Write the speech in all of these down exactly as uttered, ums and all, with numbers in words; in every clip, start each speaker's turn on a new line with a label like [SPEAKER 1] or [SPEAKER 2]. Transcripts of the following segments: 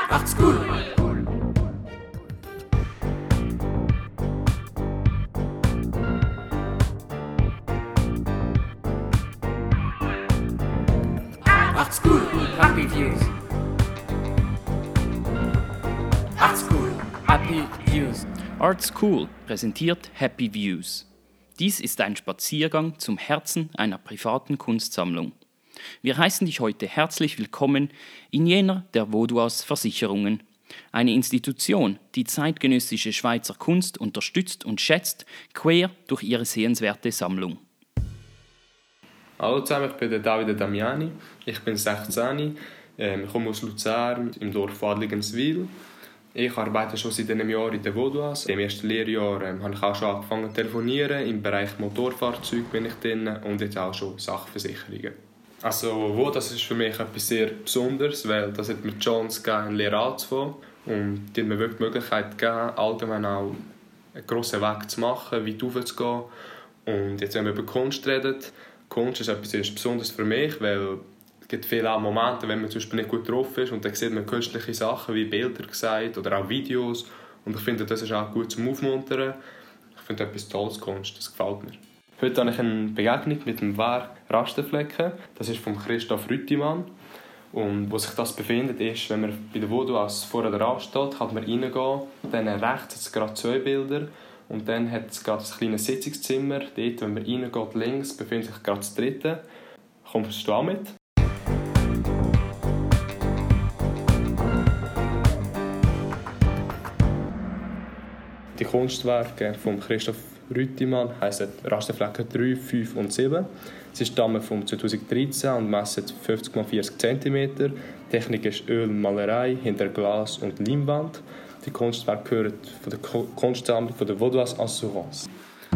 [SPEAKER 1] Macht's gut! Macht's gut! Happy Views! Macht's gut! Happy Views!
[SPEAKER 2] Art School präsentiert Happy Views. Dies ist ein Spaziergang zum Herzen einer privaten Kunstsammlung. Wir heißen dich heute herzlich willkommen in jener der Vaudoise Versicherungen, eine Institution, die zeitgenössische Schweizer Kunst unterstützt und schätzt, quer durch ihre sehenswerte Sammlung.
[SPEAKER 3] Hallo zusammen, ich bin der Davide Damiani, ich bin sechzehn, ich komme aus Luzern im Dorf Adligenswil. Ich arbeite schon seit einem Jahr in der Vaudoise. Im ersten Lehrjahr ähm, habe ich auch schon angefangen zu telefonieren. Im Bereich Motorfahrzeuge bin ich drin und jetzt auch schon Sachversicherungen. Also Vaudoise ist für mich etwas sehr Besonderes, weil das hat mir die Chance gegeben, eine Lehre anzufangen. Und die hat mir wirklich die Möglichkeit gegeben, allgemein auch einen grossen Weg zu machen, weit raufzugehen. Und jetzt, wenn wir über Kunst reden, Kunst ist etwas sehr Besonderes für mich, weil es gibt viele auch Momente, wenn man zum Beispiel nicht gut drauf ist und dann sieht man künstliche Sachen wie Bilder gesagt oder auch Videos und ich finde, das ist auch gut zum Aufmuntern. Ich finde etwas tolles Kunst, das gefällt mir. Heute habe ich eine Begegnung mit dem Werk Rasterflecken. Das ist von Christoph Rüttimann. Und wo sich das befindet, ist, wenn man bei der Vaudoise vorher dran steht, kann man reingehen. Dann rechts hat es gerade zwei Bilder. Und dann hat es gerade ein kleines Sitzungszimmer. Dort, wenn man reingeht, links, befindet sich gerade das dritte. Kommst du auch mit? Die Kunstwerke von Christoph Rüttimann heissen Rasterflecken drei, fünf und sieben. Sie stammen von zweitausenddreizehn und messen fünfzig mal vierzig Zentimeter. Die Technik ist Ölmalerei hinter Glas und Leinwand. Die Kunstwerke gehören von der Kunstsammlung von der Vaudoise Assurance.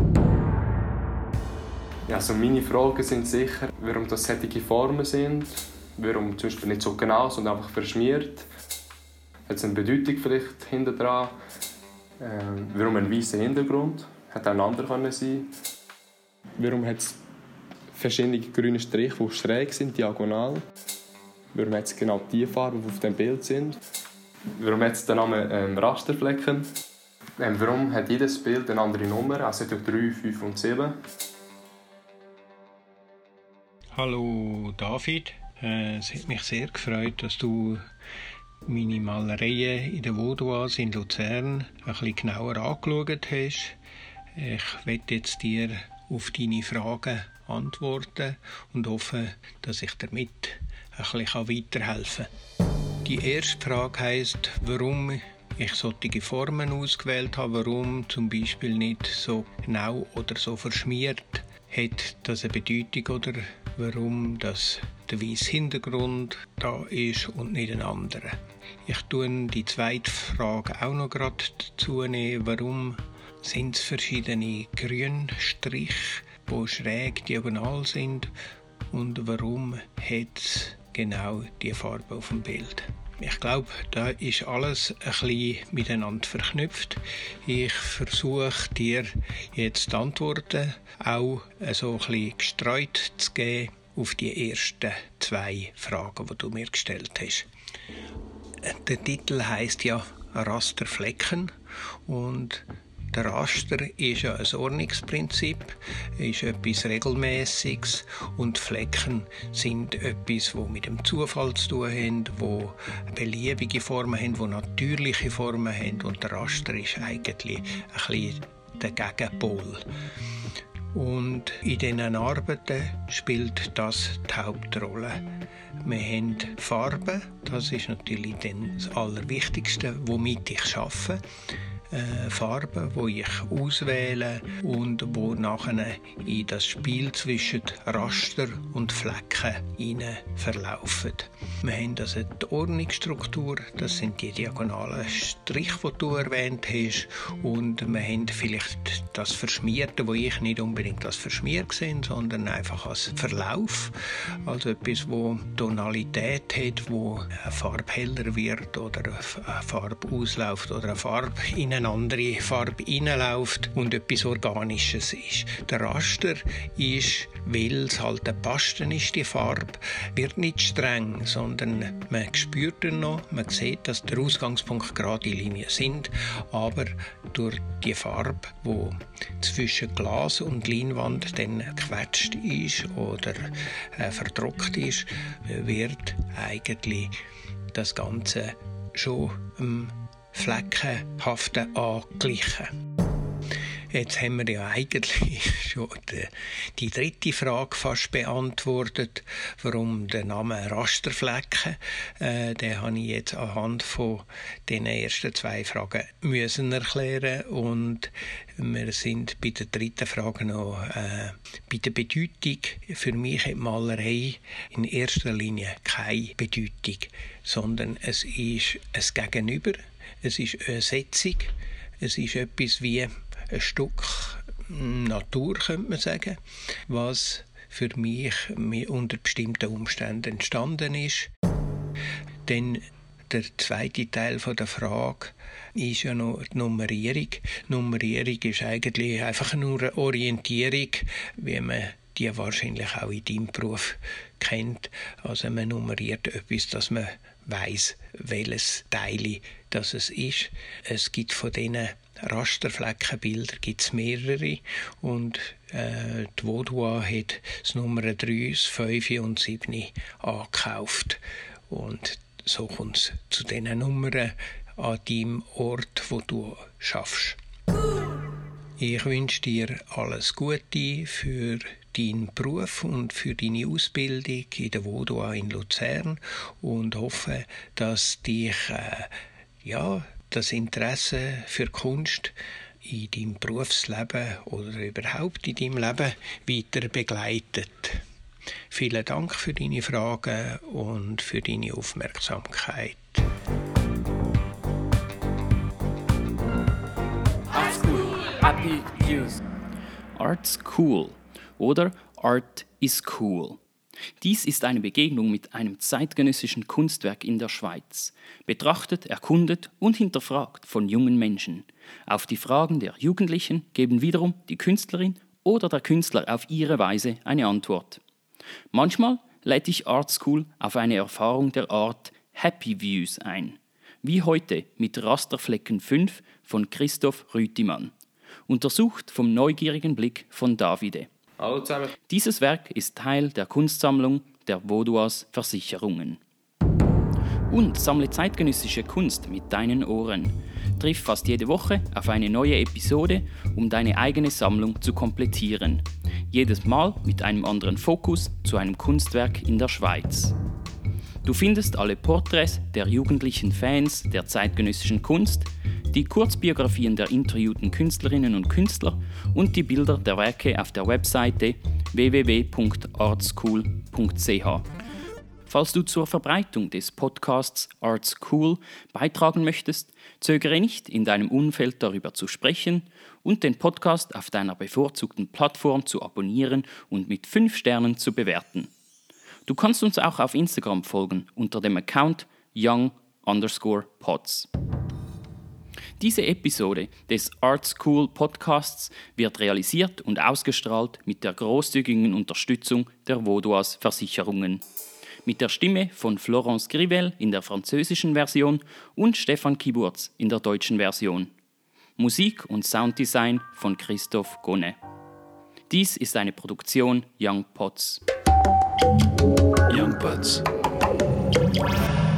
[SPEAKER 3] Ja, also meine Fragen sind sicher, warum das solche Formen sind, warum zum Beispiel nicht so genau, sondern einfach verschmiert. Hat es eine Bedeutung vielleicht hinter dran? Ähm, warum ein weißer Hintergrund? Hätte auch ein anderer können sein. Warum hat es verschiedene grüne Striche, die schräg sind, diagonal? Warum hat es genau die Farben, die auf dem Bild sind? Warum hat es den Namen ähm, Rasterflecken? Ähm, warum hat jedes Bild eine andere Nummer? Also drei, fünf und sieben.
[SPEAKER 4] Hallo David, äh, es hat mich sehr gefreut, dass du meine Malereien in der Vaudoise in Luzern ein bisschen genauer angeschaut hast. Ich werde jetzt dir auf deine Fragen antworten und hoffe, dass ich damit ein bisschen weiterhelfen kann. Die erste Frage heisst, warum ich solche Formen ausgewählt habe, warum zum Beispiel nicht so genau oder so verschmiert. Hat das eine Bedeutung oder warum das der weiße Hintergrund da ist und nicht ein anderer? Ich tue die zweite Frage auch noch gerade dazu nehmen. Warum sind es verschiedene Grünstriche, die schräg diagonal sind und warum hat es genau die Farbe auf dem Bild? Ich glaube, da ist alles ein bisschen miteinander verknüpft. Ich versuche dir jetzt die Antworten auch so ein bisschen gestreut zu geben auf die ersten zwei Fragen, die du mir gestellt hast. Der Titel heisst ja Rasterflecken und der Raster ist ja ein Ordnungsprinzip, ist etwas Regelmäßiges und Flecken sind etwas, das mit dem Zufall zu tun hat, wo beliebige Formen haben, wo natürliche Formen haben und der Raster ist eigentlich ein bisschen der Gegenpol. Und in diesen Arbeiten spielt das die Hauptrolle. Wir haben Farben, das ist natürlich das Allerwichtigste, womit ich arbeite. Äh, Farben, die ich auswähle und wo nachher in das Spiel zwischen Raster und Flecken hinein verlaufen. Wir haben also die Ordnungsstruktur, das sind die diagonalen Striche, die du erwähnt hast, und wir haben vielleicht das Verschmierte, wo ich nicht unbedingt als verschmiert sehe, sondern einfach als Verlauf, also etwas, wo die Tonalität hat, wo eine Farbe heller wird oder eine Farbe ausläuft oder eine Farbe in eine andere Farbe hineinläuft und etwas Organisches ist. Der Raster ist, weil es halt eine Paste ist, die Farbe, wird nicht streng, sondern man spürt ihn noch, man sieht, dass der Ausgangspunkt gerade Linien sind, aber durch die Farbe, die zwischen Glas und Leinwand dann gequetscht ist oder äh, verdruckt ist, wird eigentlich das Ganze schon ähm, fleckenhaften angeglichen. Jetzt haben wir ja eigentlich schon die, die dritte Frage fast beantwortet, warum der Name Rasterflecken. Äh, den habe ich jetzt anhand von den ersten zwei Fragen müssen erklären und wir sind bei der dritten Frage noch äh, bei der Bedeutung. Für mich hat Malerei in erster Linie keine Bedeutung, sondern es ist ein Gegenüber, es ist eine Setzung, es ist etwas wie ein Stück Natur, könnte man sagen, was für mich unter bestimmten Umständen entstanden ist. Denn der zweite Teil der Frage ist ja noch die Nummerierung. Die Nummerierung ist eigentlich einfach nur eine Orientierung, wie man die wahrscheinlich auch in deinem Beruf kennt. Also man nummeriert etwas, dass man weiss, welches Teil das es ist. Es gibt von diesen Rasterfleckenbilder gibt's mehrere und äh, die Vaudois hat das Nummer drei, das fünf und das sieben angekauft. Und so kommt es zu diesen Nummern an deinem Ort, wo du schaffst. Ich wünsche dir alles Gute für deinen Beruf und für deine Ausbildung in der Vaudois in Luzern und hoffe, dass dich äh, ja, das Interesse für Kunst in deinem Berufsleben oder überhaupt in deinem Leben weiter begleitet. Vielen Dank für deine Fragen und für deine Aufmerksamkeit.
[SPEAKER 1] Art School. Happy Views.
[SPEAKER 2] Art's cool oder Art is cool. Dies ist eine Begegnung mit einem zeitgenössischen Kunstwerk in der Schweiz, betrachtet, erkundet und hinterfragt von jungen Menschen. Auf die Fragen der Jugendlichen geben wiederum die Künstlerin oder der Künstler auf ihre Weise eine Antwort. Manchmal lädt ich Art School auf eine Erfahrung der Art Happy Views ein, wie heute mit Rasterflecken fünf von Christoph Rütimann, untersucht vom neugierigen Blick von Davide.
[SPEAKER 3] Hallo zusammen.
[SPEAKER 2] Dieses Werk ist Teil der Kunstsammlung der Vaudois Versicherungen. Und sammle zeitgenössische Kunst mit deinen Ohren. Triff fast jede Woche auf eine neue Episode, um deine eigene Sammlung zu komplettieren. Jedes Mal mit einem anderen Fokus zu einem Kunstwerk in der Schweiz. Du findest alle Porträts der jugendlichen Fans der zeitgenössischen Kunst, die Kurzbiografien der interviewten Künstlerinnen und Künstler und die Bilder der Werke auf der Webseite w w w punkt artschool punkt c h. Falls du zur Verbreitung des Podcasts Art's Cool beitragen möchtest, zögere nicht, in deinem Umfeld darüber zu sprechen und den Podcast auf deiner bevorzugten Plattform zu abonnieren und mit fünf Sternen zu bewerten. Du kannst uns auch auf Instagram folgen unter dem Account young underscore pods. Diese Episode des Art's Cool Podcasts wird realisiert und ausgestrahlt mit der großzügigen Unterstützung der Vaudois Versicherungen. Mit der Stimme von Florence Grivel in der französischen Version und Stefan Kiburz in der deutschen Version. Musik und Sounddesign von Christoph Gonne. Dies ist eine Produktion Young Pods.
[SPEAKER 5] Young Pods.